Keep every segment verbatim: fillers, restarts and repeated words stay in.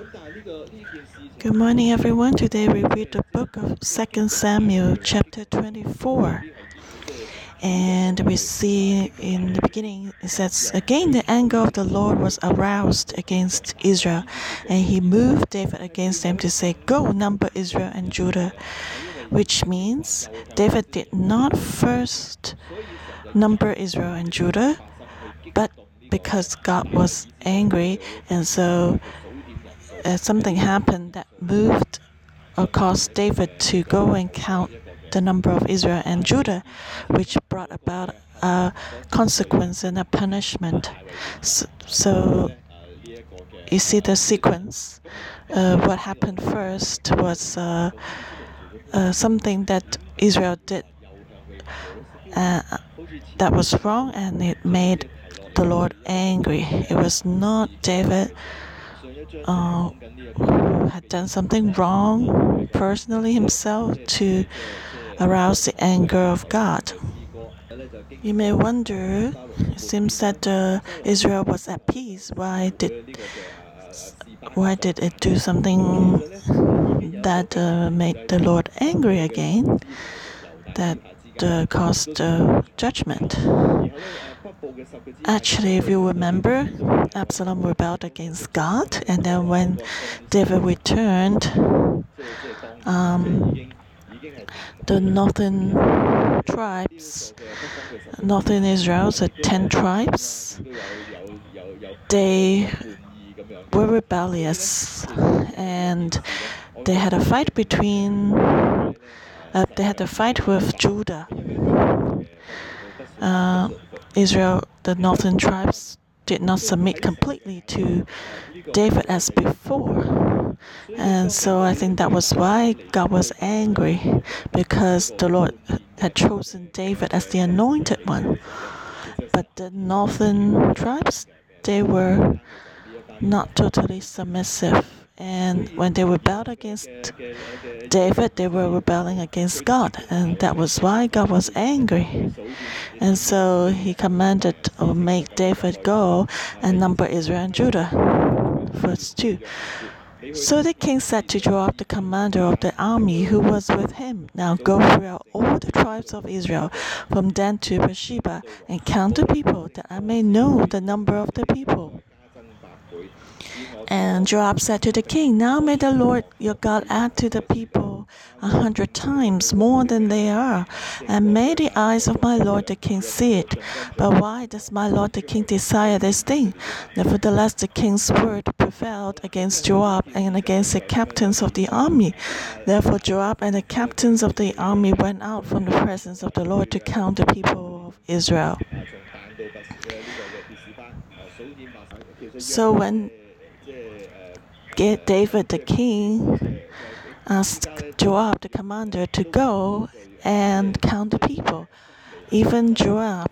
Good morning, everyone. Today we read the book of Second Samuel, chapter twenty-four. And we see in the beginning, it says, "Again the anger of the Lord was aroused against Israel, and he moved David against them to say, 'Go, number Israel and Judah,' which means David did not first number Israel and Judah, but because God was angry, and so uh, something happened that moved or caused David to go and count the number of Israel and Judah, which brought about a consequence and a punishment. So, so you see the sequence. Uh, what happened first was uh, uh, something that Israel did uh, that was wrong, and it made the Lord angry. It was not David uh, who had done something wrong personally himself to arouse the anger of God. You may wonder, it seems that uh, Israel was at peace. Why did why did it do something that uh, made the Lord angry again? That uh, caused uh, judgment. Actually, if you remember, Absalom rebelled against God, and then when David returned, um, the northern tribes, northern Israel, the ten tribes, they were rebellious, and they had a fight between. Uh, they had a fight with Judah. Uh, Israel, the northern tribes, did not submit completely to David as before. And so I think that was why God was angry, because the Lord had chosen David as the anointed one. But the northern tribes, they were not totally submissive. And when they rebelled against David, they were rebelling against God. And that was why God was angry. And so he commanded or make David go and number Israel and Judah. Verse two. So the king said to Joab, the commander of the army who was with him, "Now go throughout all the tribes of Israel, from Dan to Beersheba, and count the people, that I may know the number of the people." And Joab said to the king, "Now may the Lord your God add to the people a hundred times more than they are, and may the eyes of my lord the king see it. But why does my lord the king desire this thing?" Nevertheless, the king's word prevailed against Joab and against the captains of the army. Therefore Joab and the captains of the army went out from the presence of the Lord to count the people of Israel. So when David the king asked Joab the commander to go and count the people, even Joab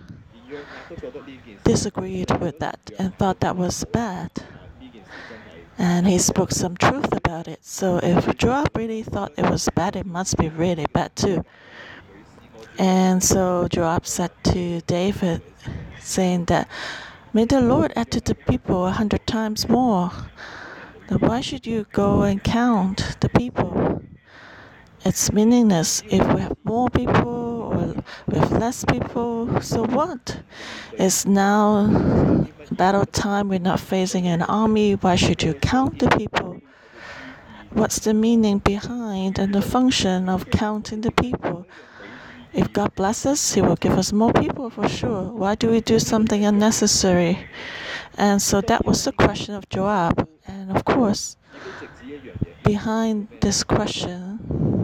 disagreed with that and thought that was bad. And he spoke some truth about it. So if Joab really thought it was bad, it must be really bad too. And so Joab said to David, saying that, "May the Lord add to the people a hundred times more. Now why should you go and count the people? It's meaningless. If we have more people or we have less people, so what? It's now battle time. We're not facing an army. Why should you count the people? What's the meaning behind and the function of counting the people? If God blesses us, He will give us more people for sure. Why do we do something unnecessary?" And so that was the question of Joab. And of course, behind this question,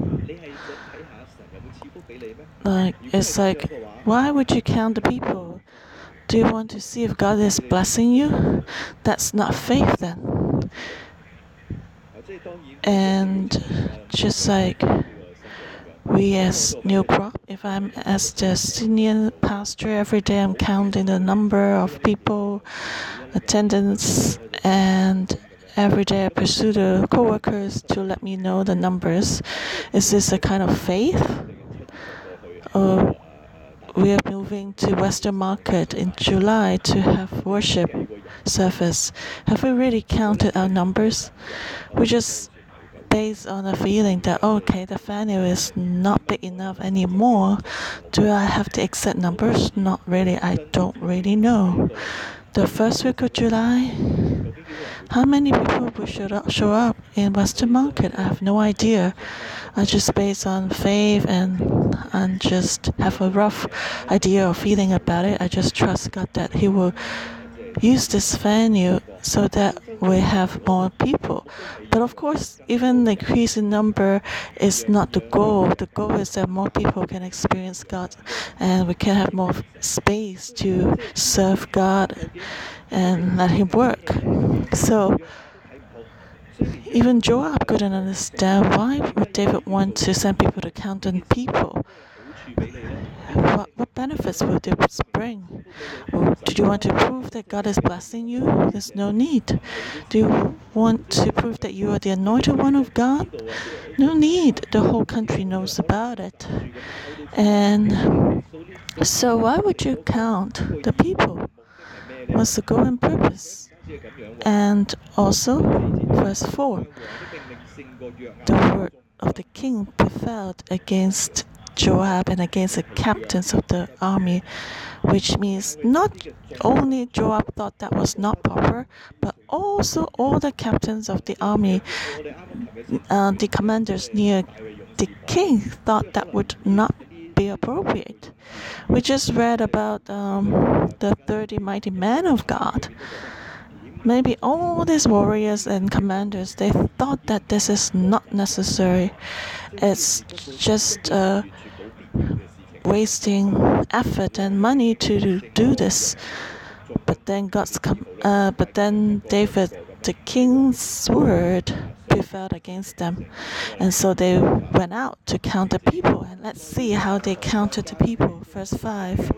like it's like, why would you count the people? Do you want to see if God is blessing you? That's not faith then. And just like we as New Crop, if I'm as the senior pastor, every day I'm counting the number of people, attendance, and every day I pursue the co-workers to let me know the numbers. Is this a kind of faith? Or we are moving to Western Market in July to have worship surface. Have we really counted our numbers? We just based on a feeling that, okay, the venue is not big enough anymore. Do I have the exact numbers? Not really. I don't really know. The first week of July, how many people will show up, show up in Western Market? I have no idea. I just based on faith and and just have a rough idea or feeling about it. I just trust God that He will use this venue so that we have more people. But of course, even the increase in number is not the goal. The goal is that more people can experience God and we can have more space to serve God and let Him work. So even Joab couldn't understand why would David want to send people to count on people. What, what benefits will this bring? Or do you want to prove that God is blessing you? There's no need. Do you want to prove that you are the anointed one of God? No need. The whole country knows about it. And so why would you count the people? What's the goal and purpose? And also, verse four, the word of the king prevailed against Joab and against the captains of the army, which means not only Joab thought that was not proper, but also all the captains of the army, uh, the commanders near the king, thought that would not be appropriate. We just read about um, the thirty mighty men of God. Maybe all these warriors and commanders, they thought that this is not necessary. It's just uh, wasting effort and money to do this. But then God's, uh, but then David, the king's word prevailed against them, and so they went out to count the people. And let's see how they counted the people. Verse five.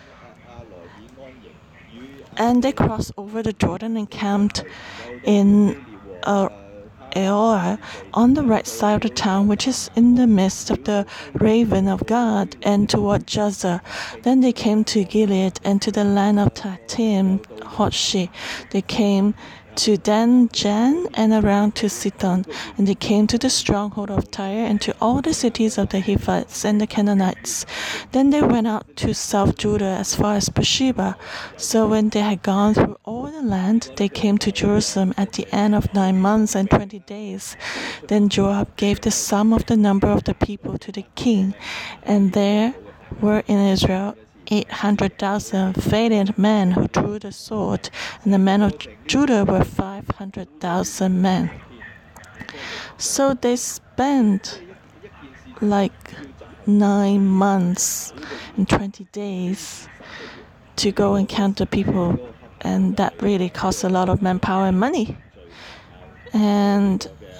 And they crossed over the Jordan and camped in uh, Aorah on the right side of the town, which is in the midst of the Raven of God, and toward Jazer. Then they came to Gilead and to the land of Tahtim Hodshi. They came to Dan Jan and around to Sidon, and they came to the stronghold of Tyre and to all the cities of the Hivites and the Canaanites. Then they went out to South Judah as far as Beersheba. So when they had gone through all the land, they came to Jerusalem at the end of nine months and twenty days. Then Joab gave the sum of the number of the people to the king, and there were in Israel eight hundred thousand valiant men who drew the sword, and the men of Judah were five hundred thousand men. So they spent like nine months and twenty days to go and count the people, and that really cost a lot of manpower and money. And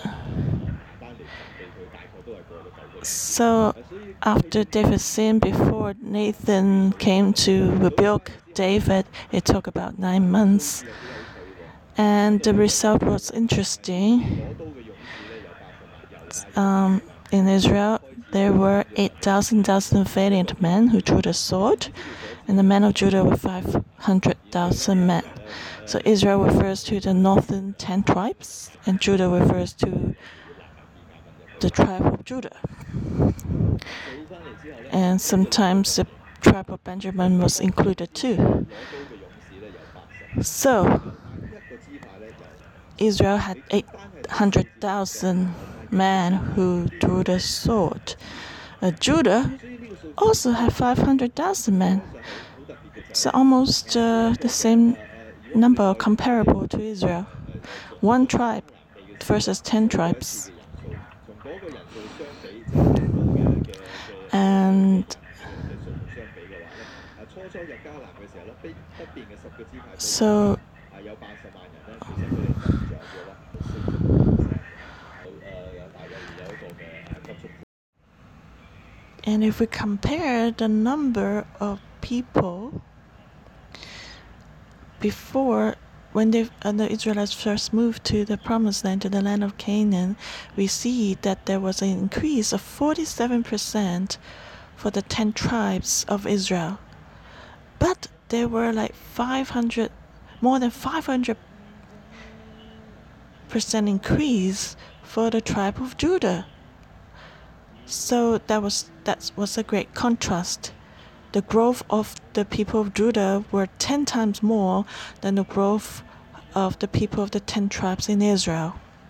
so after David sinned, before Nathan came to rebuke David, it took about nine months. And the result was interesting. Um, in Israel, there were eight thousand valiant men who drew the sword, and the men of Judah were five hundred thousand men. So Israel refers to the northern ten tribes, and Judah refers to the tribe of Judah. And sometimes the tribe of Benjamin was included too. So Israel had eight hundred thousand men who drew the sword. Uh, Judah also had five hundred thousand men. So almost uh, the same number comparable to Israel. One tribe versus ten tribes. And so and if we compare the number of people before, when they, uh, the Israelites first moved to the Promised Land, to the land of Canaan, we see that there was an increase of forty-seven percent for the ten tribes of Israel. But there were like five hundred more than five hundred percent increase for the tribe of Judah. So that was that was a great contrast. The growth of the people of Judah were ten times more than the growth of the people of the ten tribes in Israel.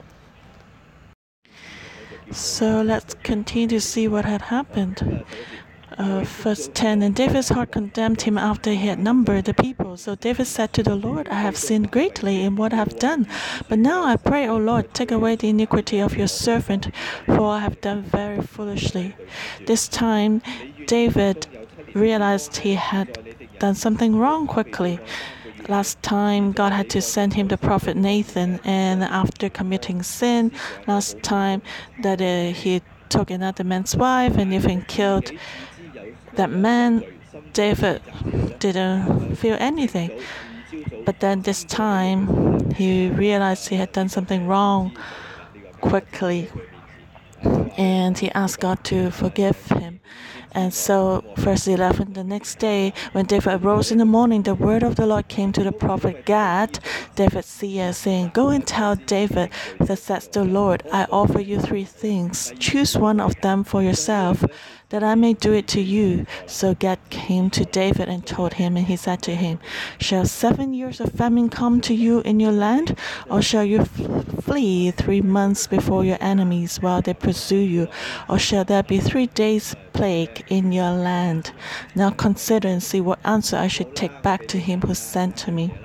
So let's continue to see what had happened. Uh, verse ten, and David's heart condemned him after he had numbered the people. So David said to the Lord, I have sinned greatly in what I have done. But now I pray, O Lord, take away the iniquity of your servant, for I have done very foolishly. This time, David realized he had done something wrong quickly. Last time, God had to send him the prophet Nathan, and after committing sin, last time that uh, he took another man's wife and even killed that man, David didn't feel anything. But then this time, he realized he had done something wrong quickly, and he asked God to forgive him. And so, verse eleven, the next day, when David arose in the morning, the word of the Lord came to the prophet Gad, David's seer, saying, Go and tell David, thus says the Lord, I offer you three things. Choose one of them for yourself, that I may do it to you. So Gad came to David and told him, and he said to him, Shall seven years of famine come to you in your land, or shall you flee three months before your enemies while they pursue you, or shall there be three days plague in your land? Now consider and see what answer I should take back to him who sent to me.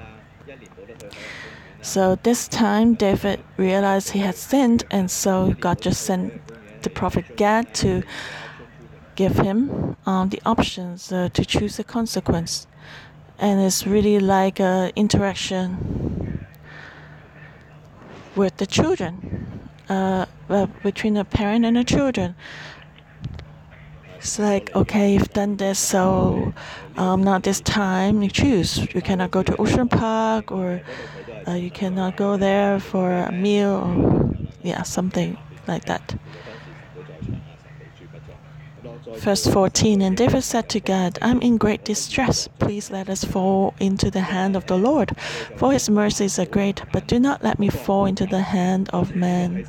So this time David realized he had sinned, and so God just sent the prophet Gad to give him um, the options uh, to choose a consequence. And it's really like an interaction with the children, uh, well, between a parent and a children. It's like, okay, you've done this, so um, now this time you choose. You cannot go to Ocean Park, or uh, you cannot go there for a meal, or yeah, something like that. Verse fourteen, and David said to God, I am in great distress. Please let us fall into the hand of the Lord, for his mercies are great, but do not let me fall into the hand of man.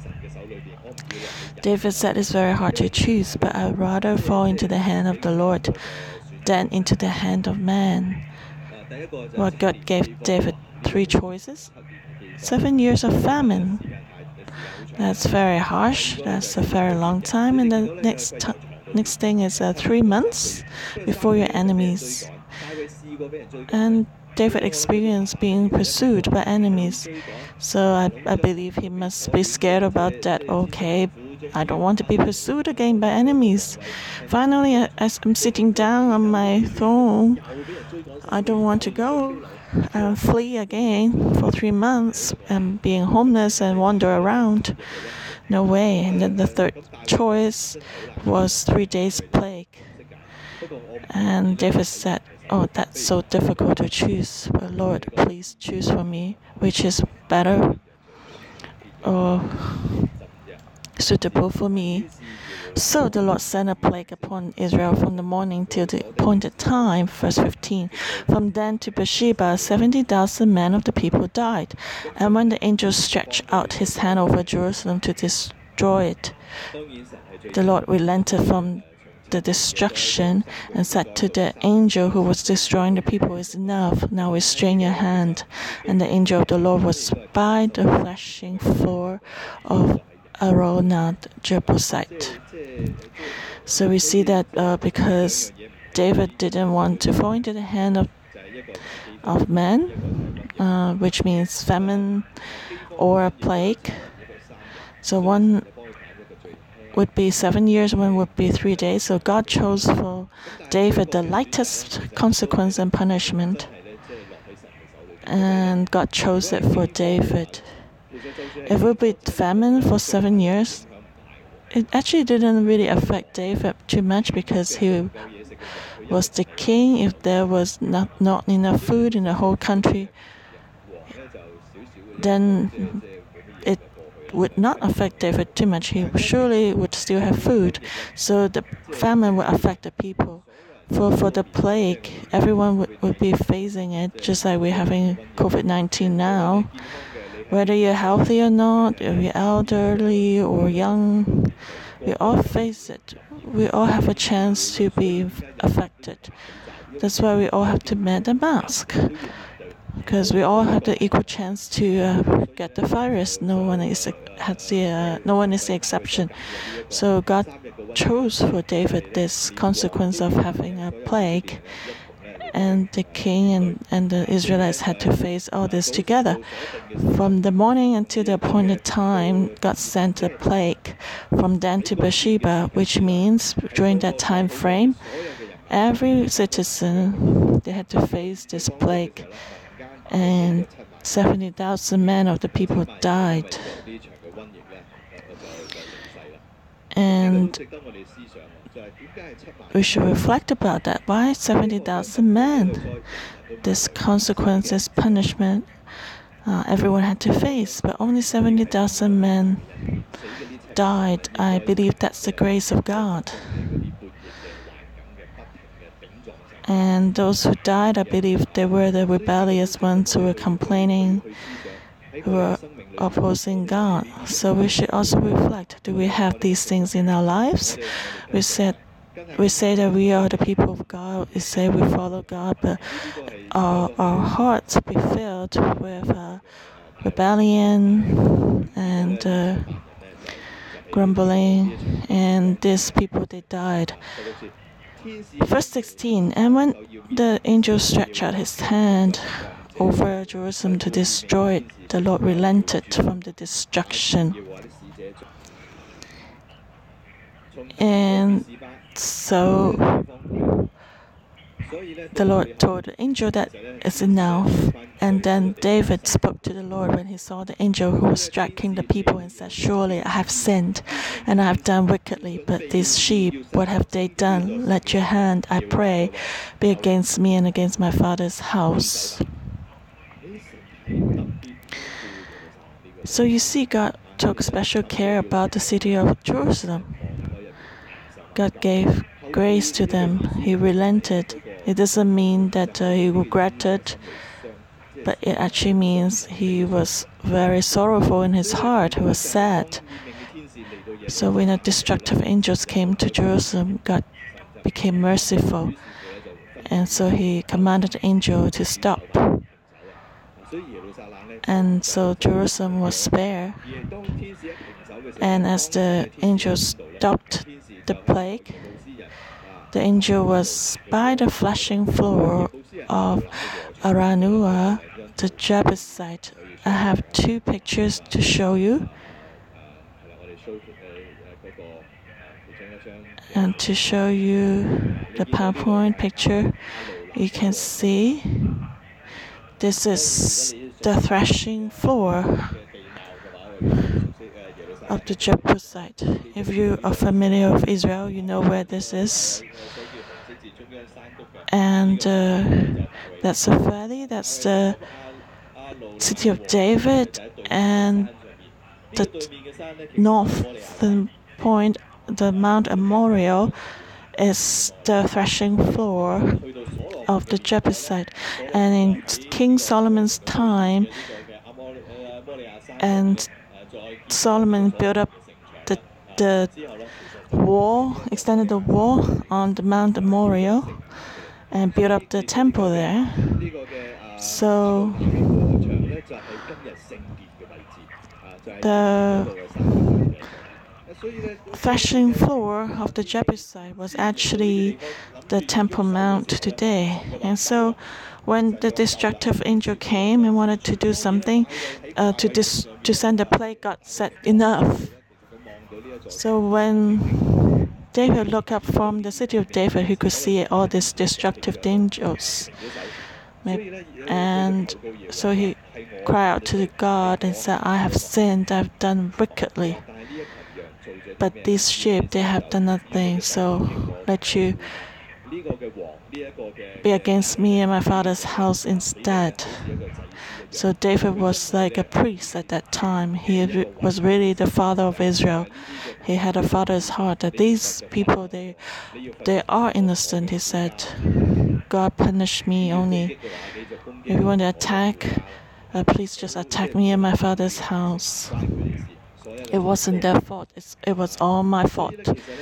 David said it's very hard to choose, but I'd rather fall into the hand of the Lord than into the hand of man. Well, God gave David three choices. Seven years of famine. That's very harsh. That's a very long time. And the next time, Next thing is uh, three months before your enemies. And David experienced being pursued by enemies. So I, I believe he must be scared about that. Okay, I don't want to be pursued again by enemies. Finally, as I'm sitting down on my throne, I don't want to go and flee again for three months and being homeless and wander around. No way. And then the third choice was three days plague. And David said, oh, that's so difficult to choose. But Lord, please choose for me which is better or suitable for me. So the Lord sent a plague upon Israel from the morning till the appointed time. Verse fifteen. From Dan to Beersheba, seventy thousand men of the people died. And when the angel stretched out his hand over Jerusalem to destroy it, the Lord relented from the destruction and said to the angel who was destroying the people, "It's enough. Now restrain your hand." And the angel of the Lord was by the threshing floor of Araunah Jebusite. So we see that uh, because David didn't want to fall into the hand of of man, uh, which means famine or a plague. So one would be seven years, one would be three days. So God chose for David the lightest consequence and punishment, and God chose it for David. If it would be famine for seven years, it actually didn't really affect David too much because he was the king. If there was not, not enough food in the whole country, then it would not affect David too much. He surely would still have food. So the famine would affect the people for, for the plague, everyone would, would be facing it, just like we're having COVID nineteen now. Whether you're healthy or not, if you're elderly or young, we all face it. We all have a chance to be affected. That's why we all have to wear the mask, because we all have the equal chance to uh, get the virus. No one is has the uh, no one is the exception. So God chose for David this consequence of having a plague, and the king and, and the Israelites had to face all this together. From the morning until the appointed time, God sent a plague from Dan to Beersheba, which means during that time frame, every citizen, they had to face this plague, and seventy thousand men of the people died. And we should reflect about that. Why seventy thousand men? This consequence, this punishment, uh, everyone had to face, but only seventy thousand men died. I believe that's the grace of God. And those who died, I believe they were the rebellious ones who were complaining, who were opposing God. So we should also reflect, do we have these things in our lives? We said we say that we are the people of God. We say we follow God, but our, our hearts be filled with uh, rebellion and uh, grumbling, and these people, they died. Verse sixteen, and when the angel stretched out his hand over Jerusalem to destroy it, the Lord relented from the destruction. And so the Lord told the angel that it's enough. And then David spoke to the Lord when he saw the angel who was striking the people and said, surely I have sinned and I have done wickedly. But these sheep, what have they done? Let your hand, I pray, be against me and against my father's house. So you see, God took special care about the city of Jerusalem. God gave grace to them. He relented. It doesn't mean that uh, he regretted, but it actually means he was very sorrowful in his heart. He was sad. So when the destructive angels came to Jerusalem, God became merciful. And so he commanded the angel to stop. And so Jerusalem was spared. And as the angel stopped the plague, the angel was by the flashing floor of Araunah, the Jebusite. I have two pictures to show you. And to show you the PowerPoint picture, you can see this is the threshing floor of the Jebusite. If you are familiar with Israel, you know where this is. And uh, that's the valley, that's the city of David, and the northern point, the Mount Moriah, is the threshing floor of the Jebusite. And in King Solomon's time, and Solomon built up the the wall, extended the wall on the Mount Moriah, and built up the temple there. So the threshing floor of the Jebusite was actually the Temple Mount today. And so when the destructive angel came and wanted to do something uh, to, dis- to send a plague, God said, enough. So when David looked up from the city of David, he could see all these destructive angels. And so he cried out to God and said, I have sinned, I have done wickedly. But these sheep, they have done nothing, so let you be against me and my father's house instead. So David was like a priest at that time. He was really the father of Israel. He had a father's heart that these people, they, they are innocent, he said. God punished me only. If you want to attack, uh, please just attack me and my father's house. It wasn't their fault. It's, it was all my fault.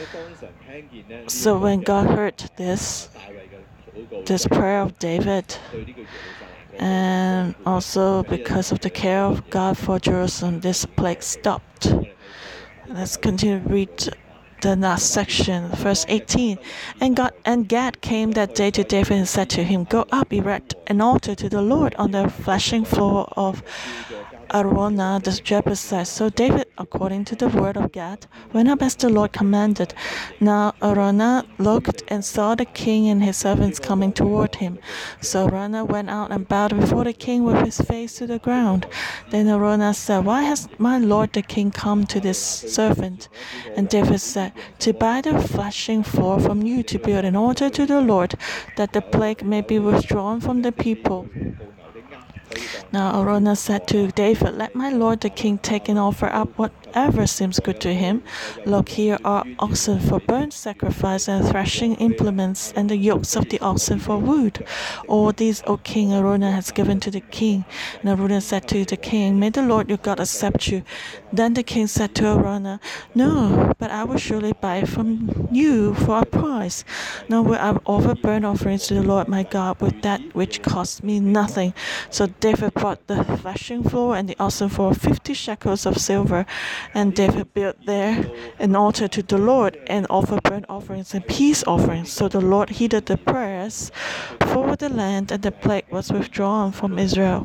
So when God heard this, this prayer of David, and also because of the care of God for Jerusalem, this plague stopped. Let's continue to read the last section, verse eighteen. And God and Gad came that day to David and said to him, "Go up, erect an altar to the Lord on the threshing floor of Araunah the Jebusite." So David, according to the word of Gad, went up as the Lord commanded. Now Araunah looked and saw the king and his servants coming toward him. So Araunah went out and bowed before the king with his face to the ground. Then Araunah said, "Why has my lord the king come to this servant?" And David said, "To buy the threshing floor from you, to build an altar to the Lord, that the plague may be withdrawn from the people." Now Araunah said to David, "Let my lord the king take and offer up whatever seems good to him. Look, here are oxen for burnt sacrifice and threshing implements and the yokes of the oxen for wood. All these, O king, Araunah has given to the king." And Araunah said to the king, "May the Lord your God accept you." Then the king said to Araunah, "No, but I will surely buy it from you for a price. Nor will I offer burnt offerings to the Lord my God with that which cost me nothing." So David bought the threshing floor and the oxen for fifty shekels of silver. And David built there an altar to the Lord and offered burnt offerings and peace offerings. So the Lord heeded the prayers for the land, and the plague was withdrawn from Israel.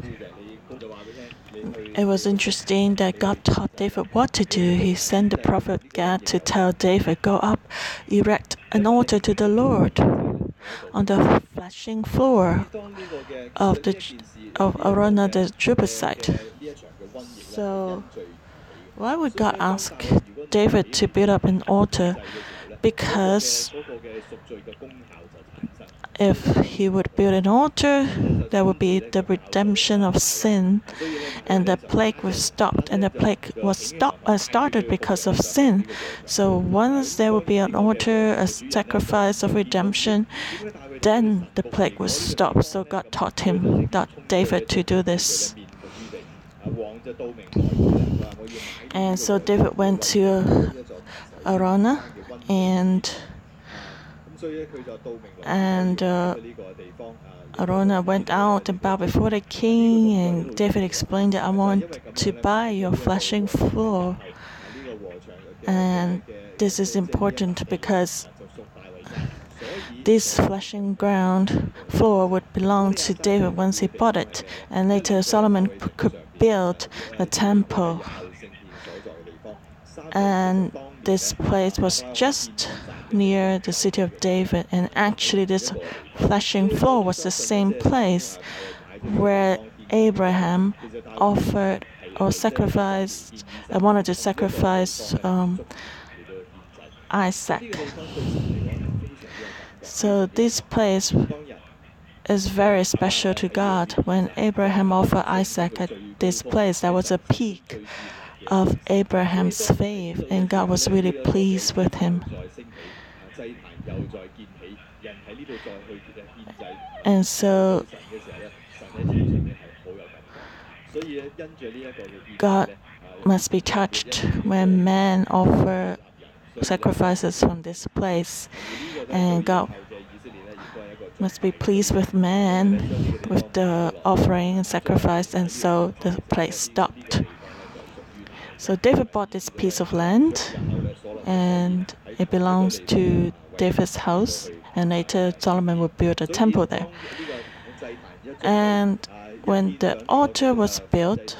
It was interesting that God taught David what to do. He sent the prophet Gad to tell David, "Go up, erect an altar to the Lord on the threshing floor of the of Araunah the Jebusite." So why would God ask David to build up an altar? Because if he would build an altar, there would be the redemption of sin, and the plague was stopped. And the plague was stop, uh, started because of sin. So once there would be an altar, a sacrifice of redemption, then the plague was stopped. So God taught him, taught David to do this. And so David went to Araunah, and and uh, Araunah went out and bowed before the king, and David explained that, "I want to buy your threshing floor." And this is important because this threshing ground floor would belong to David once he bought it, and later Solomon could build the temple. And this place was just near the city of David, and actually this threshing floor was the same place where Abraham offered or sacrificed, uh, wanted to sacrifice um, Isaac. So this place is very special to God. When Abraham offered Isaac at this place, that was a peak of Abraham's faith, and God was really pleased with him. And so God must be touched when men offer sacrifices from this place, and God must be pleased with man with the offering and sacrifice, and so the place stopped. So David bought this piece of land, and it belongs to David's house, and later Solomon would build a temple there. And when the altar was built,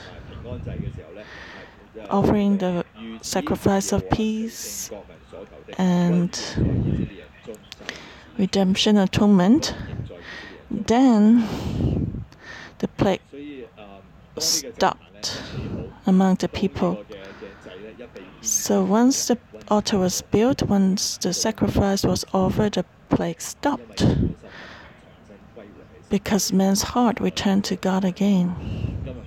offering the sacrifice of peace and redemption atonement, then the plague stopped among the people. So once the altar was built, once the sacrifice was offered, the plague stopped, because man's heart returned to God again.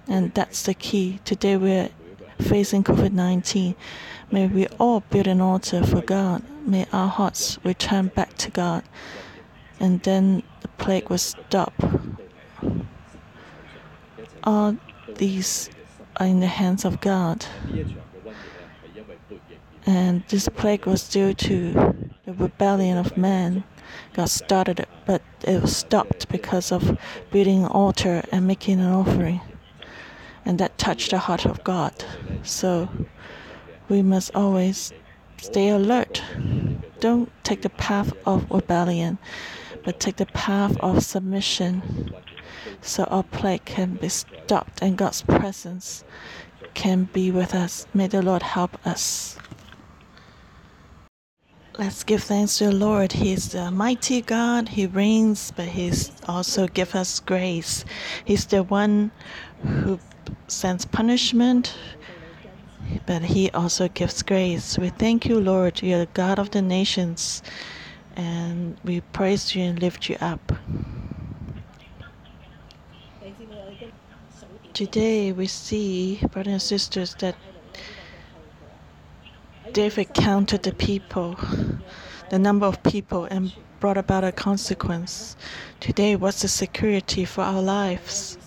And that's the key. Today we're facing COVID nineteen. May we all build an altar for God. May our hearts return back to God. And then the plague will stop. All these are in the hands of God. And this plague was due to the rebellion of man. God started it, but it was stopped because of building an altar and making an offering. And that touched the heart of God. So we must always stay alert. Don't take the path of rebellion, but take the path of submission, so our plague can be stopped and God's presence can be with us. May the Lord help us. Let's give thanks to the Lord. He is the mighty God. He reigns, but He's also gives us grace. He's the one who sends punishment, but He also gives grace. We thank you, Lord. You're the God of the nations, and we praise you and lift you up. Today we see, brothers and sisters, that David counted the people, the number of people, and brought about a consequence. Today, what's the security for our lives?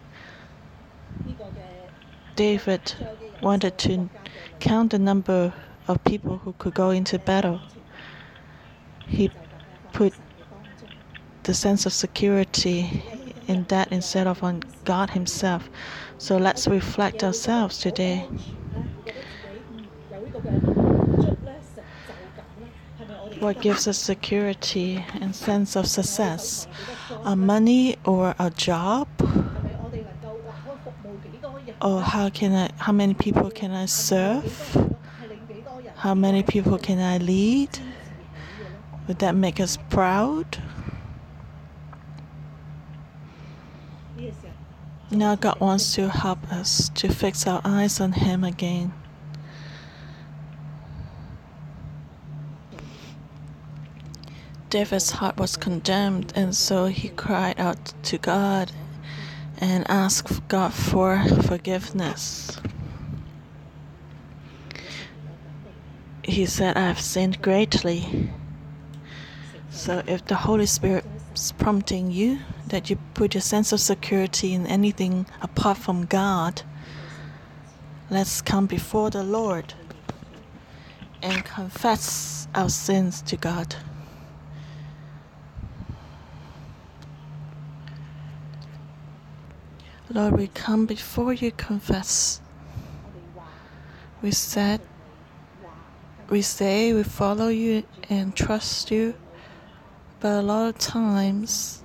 David wanted to count the number of people who could go into battle. He put the sense of security in that instead of on God Himself. So let's reflect ourselves today. What gives us security and sense of success? Our money or our job? Or how can I? How many people can I serve? How many people can I lead? Would that make us proud? Now God wants to help us to fix our eyes on Him again. David's heart was condemned, and so he cried out to God and asked God for forgiveness. He said, I have sinned greatly. So if the Holy Spirit is prompting you that you put your sense of security in anything apart from God, let's come before the Lord and confess our sins to God. Lord, we come before you, confess. We said, we say we follow you and trust you, but a lot of times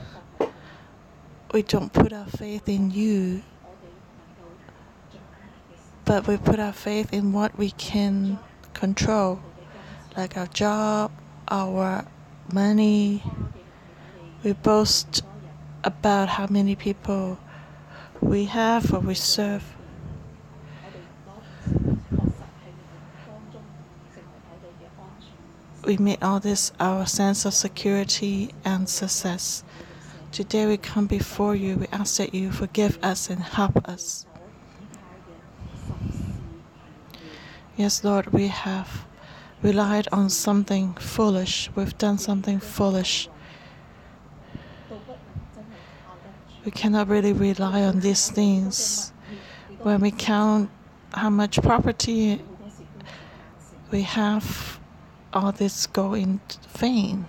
we don't put our faith in you, but we put our faith in what we can control, like our job, our money. We boast about how many people we have or we serve. We make all this our sense of security and success. Today we come before you. We ask that you forgive us and help us. Yes, Lord, we have relied on something foolish. We've done something foolish. We cannot really rely on these things. When we count how much property we have, all this go in vain.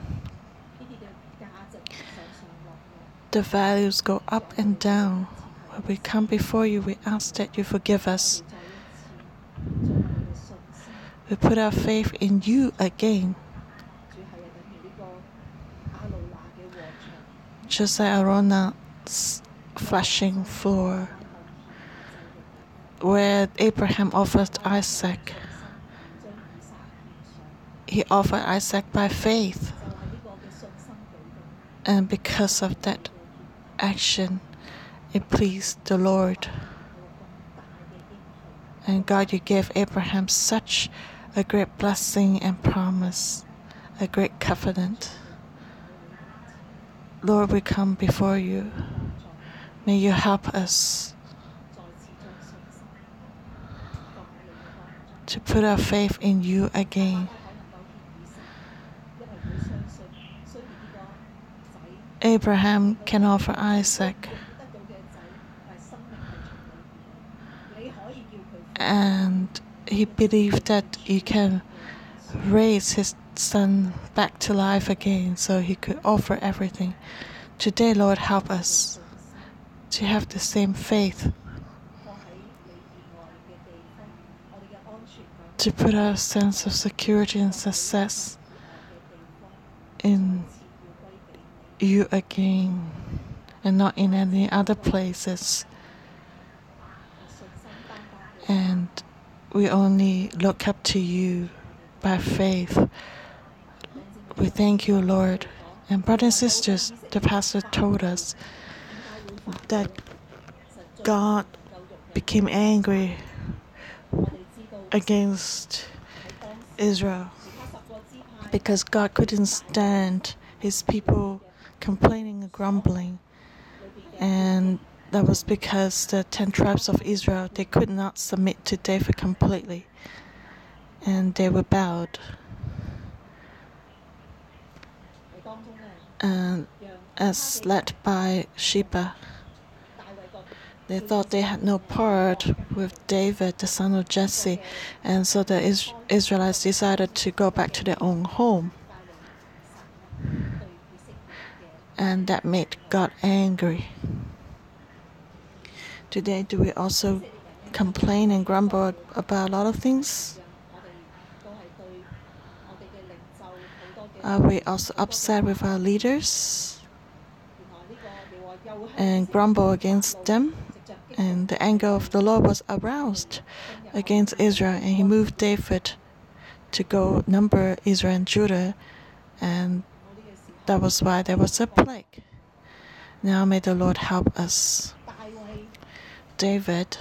The values go up and down. When we come before you, we ask that you forgive us. We put our faith in you again. Just like Araunah's flashing floor, where Abraham offered Isaac. He offered Isaac by faith. And because of that action, it pleased the Lord. And God, you gave Abraham such a great blessing and promise, a great covenant. Lord, we come before you. May you help us. to put our faith in you again. Abraham can offer Isaac, and he believed that he can raise his son back to life again, so he could offer everything. Today, Lord, help us to have the same faith, to put our sense of security and success in you again and not in any other places. And we only look up to you by faith. We thank you, Lord. And brothers and sisters, the pastor told us that God became angry against Israel because God couldn't stand his people complaining and grumbling. And that was because the ten tribes of Israel, they could not submit to David completely. And they were bowed. And as led by Sheba, they thought they had no part with David, the son of Jesse, and so the Is- Israelites decided to go back to their own home. And that made God angry. Today, do we also complain and grumble about a lot of things? Are we also upset with our leaders and grumble against them? And the anger of the Lord was aroused against Israel, and he moved David to go number Israel and Judah, and that was why there was a plague. Now may the Lord help us. David,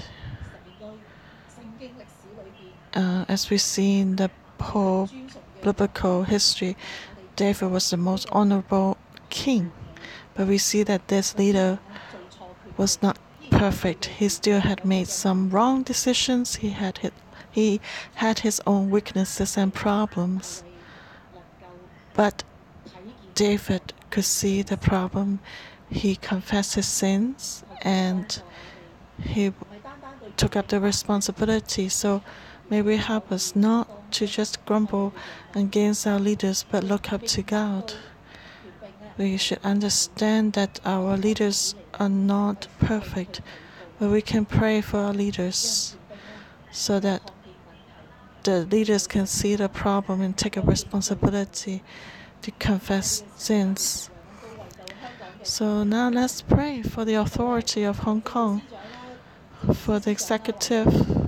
uh, as we see in the whole biblical history, David was the most honorable king. But we see that this leader was not perfect. He still had made some wrong decisions. He had hit, he had his own weaknesses and problems. But David could see the problem. He confessed his sins and he took up the responsibility. So may we help us not to just grumble against our leaders, but look up to God. We should understand that our leaders are not perfect, but we can pray for our leaders so that the leaders can see the problem and take a responsibility to confess sins. So now let's pray for the authority of Hong Kong, for the executive,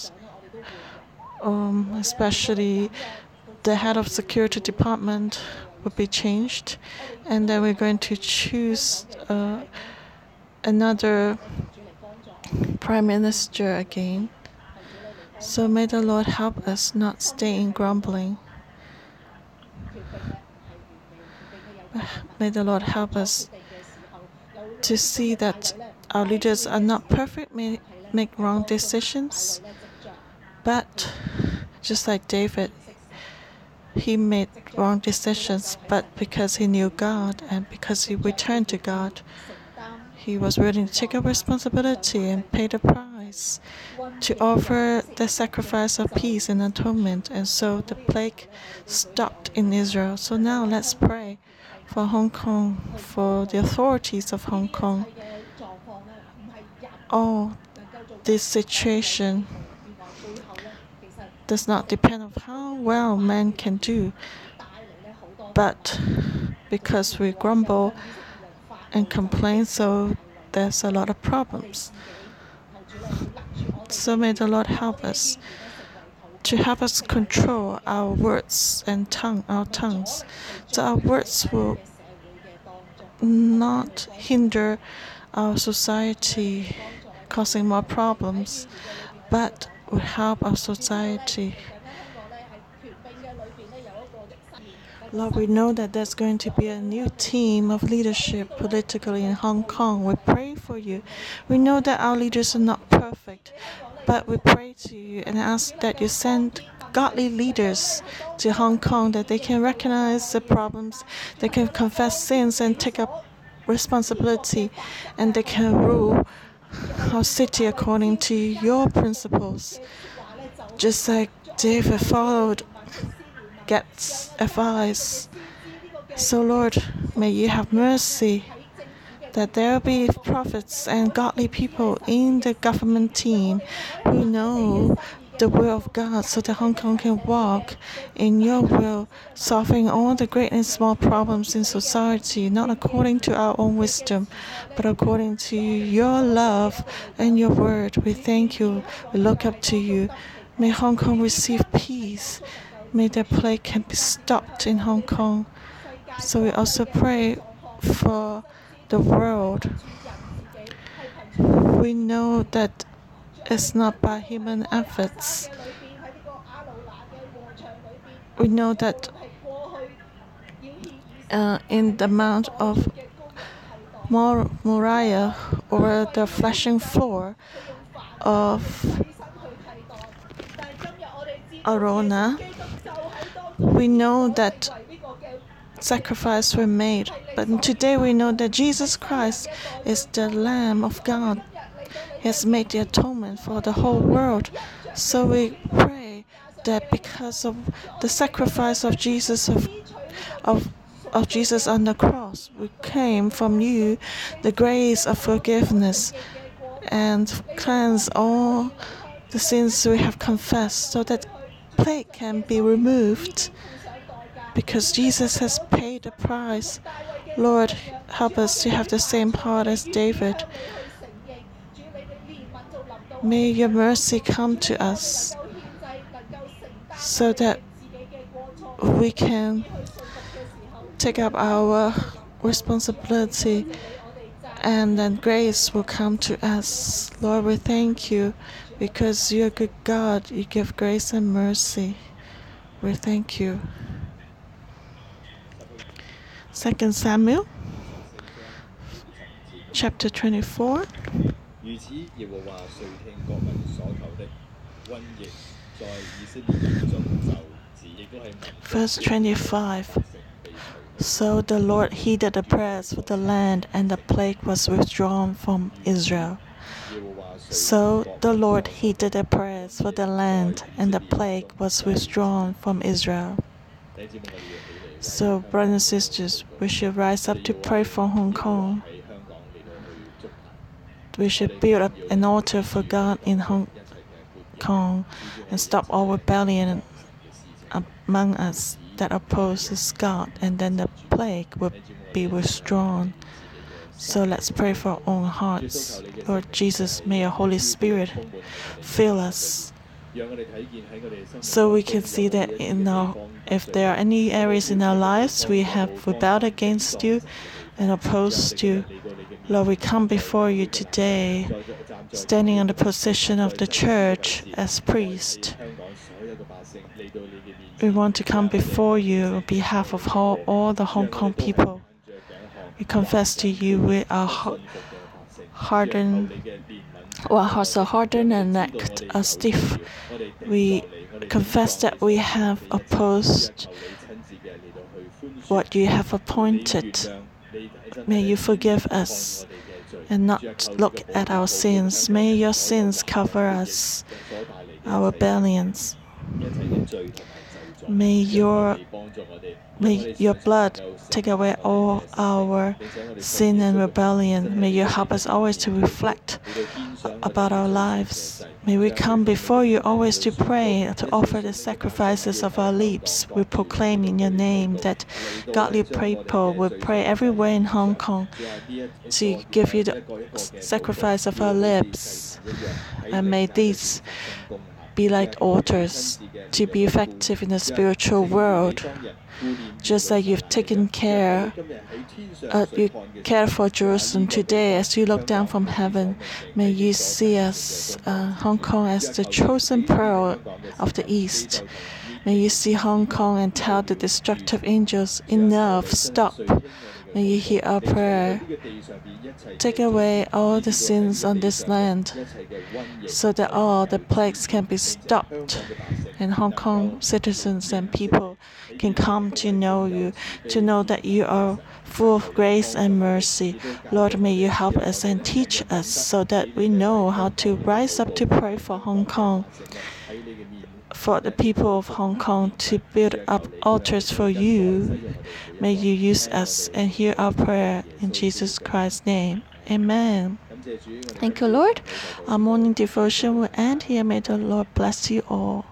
um, especially the head of security department will be changed, and then we're going to choose uh, another prime minister again. So may the Lord help us not stay in grumbling. May the Lord help us to see that our leaders are not perfect, may make wrong decisions, but just like David, he made wrong decisions, but because he knew God and because he returned to God, he was willing to take a responsibility and pay the price to offer the sacrifice of peace and atonement. And so the plague stopped in Israel. So now let's pray for Hong Kong, for the authorities of Hong Kong. All this situation does not depend on how well man can do, but because we grumble and complain, so there's a lot of problems. So may the Lord help us to help us control our words and tongue, our tongues, so our words will not hinder our society, causing more problems, but will help our society. Lord, we know that there's going to be a new team of leadership politically in Hong Kong. We pray for you. We know that our leaders are not perfect, But we pray to you and ask that you send godly leaders to Hong Kong, that they can recognize the problems, they can confess sins and take up responsibility, and they can rule our city according to your principles. Just like David followed Gad's advice. So Lord, may you have mercy that there will be prophets and godly people in the government team who know the will of God, so that Hong Kong can walk in your will, solving all the great and small problems in society, not according to our own wisdom, but according to your love and your word. We thank you. We look up to you. May Hong Kong receive peace. May the plague can be stopped in Hong Kong. So we also pray for the world. We know that it's not by human efforts. We know that uh, in the Mount of Mor- Moriah, or the threshing floor of Arona, we know that sacrifices were made. But today we know that Jesus Christ is the Lamb of God. He has made the atonement for the whole world. So we pray that because of the sacrifice of Jesus of, of, of Jesus on the cross, we came from you the grace of forgiveness and cleanse all the sins we have confessed, so that plague can be removed, because Jesus has paid the price. Lord, help us to have the same heart as David. May your mercy come to us, so that we can take up our responsibility, and then grace will come to us. Lord, we thank you, because you're a good God. You give grace and mercy. We thank you. Second Samuel, chapter twenty-four. Verse twenty-five. So the Lord heeded the prayers for the land, and the plague was withdrawn from Israel. So the Lord heeded the prayers for the land, and the plague was withdrawn from Israel. So, brothers and sisters, we should rise up to pray for Hong Kong. We should build up an altar for God in Hong Kong and stop all rebellion among us that opposes God, and then the plague will be withdrawn. So let's pray for our own hearts. Lord Jesus, may your Holy Spirit fill us, so we can see that in our, if there are any areas in our lives we have rebelled against you and opposed you, Lord, we come before you today, standing on the position of the church as priest. We want to come before you on behalf of all, all the Hong Kong people. We confess to you we are hardened, our hearts are hardened and neck are stiff. We confess that we have opposed what you have appointed. May you forgive us and not look at our sins. May your sins cover us, our rebellions. May your, may your blood take away all our sin and rebellion. May you help us always to reflect about our lives. May we come before you always to pray, to offer the sacrifices of our lips. We proclaim in your name that godly people will pray everywhere in Hong Kong to give you the sacrifice of our lips. And may these be like altars to be effective in the spiritual world. Just like you've taken care, uh, you care for Jerusalem today, as you look down from heaven, may you see us, uh, Hong Kong, as the chosen pearl of the East. May you see Hong Kong and tell the destructive angels, enough, stop. May you hear our prayer. Take away all the sins on this land so that all the plagues can be stopped and Hong Kong citizens and people can come to know you, to know that you are full of grace and mercy. Lord, may you help us and teach us so that we know how to rise up to pray for Hong Kong, for the people of Hong Kong, to build up altars for you. May you use us and hear our prayer in Jesus Christ's name. Amen. Thank you, Lord. Our morning devotion will end here. May the Lord bless you all.